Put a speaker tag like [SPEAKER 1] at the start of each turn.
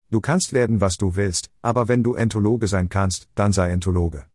[SPEAKER 1] Du kannst werden, was du willst, aber wenn du Enthologe sein kannst, dann sei Enthologe.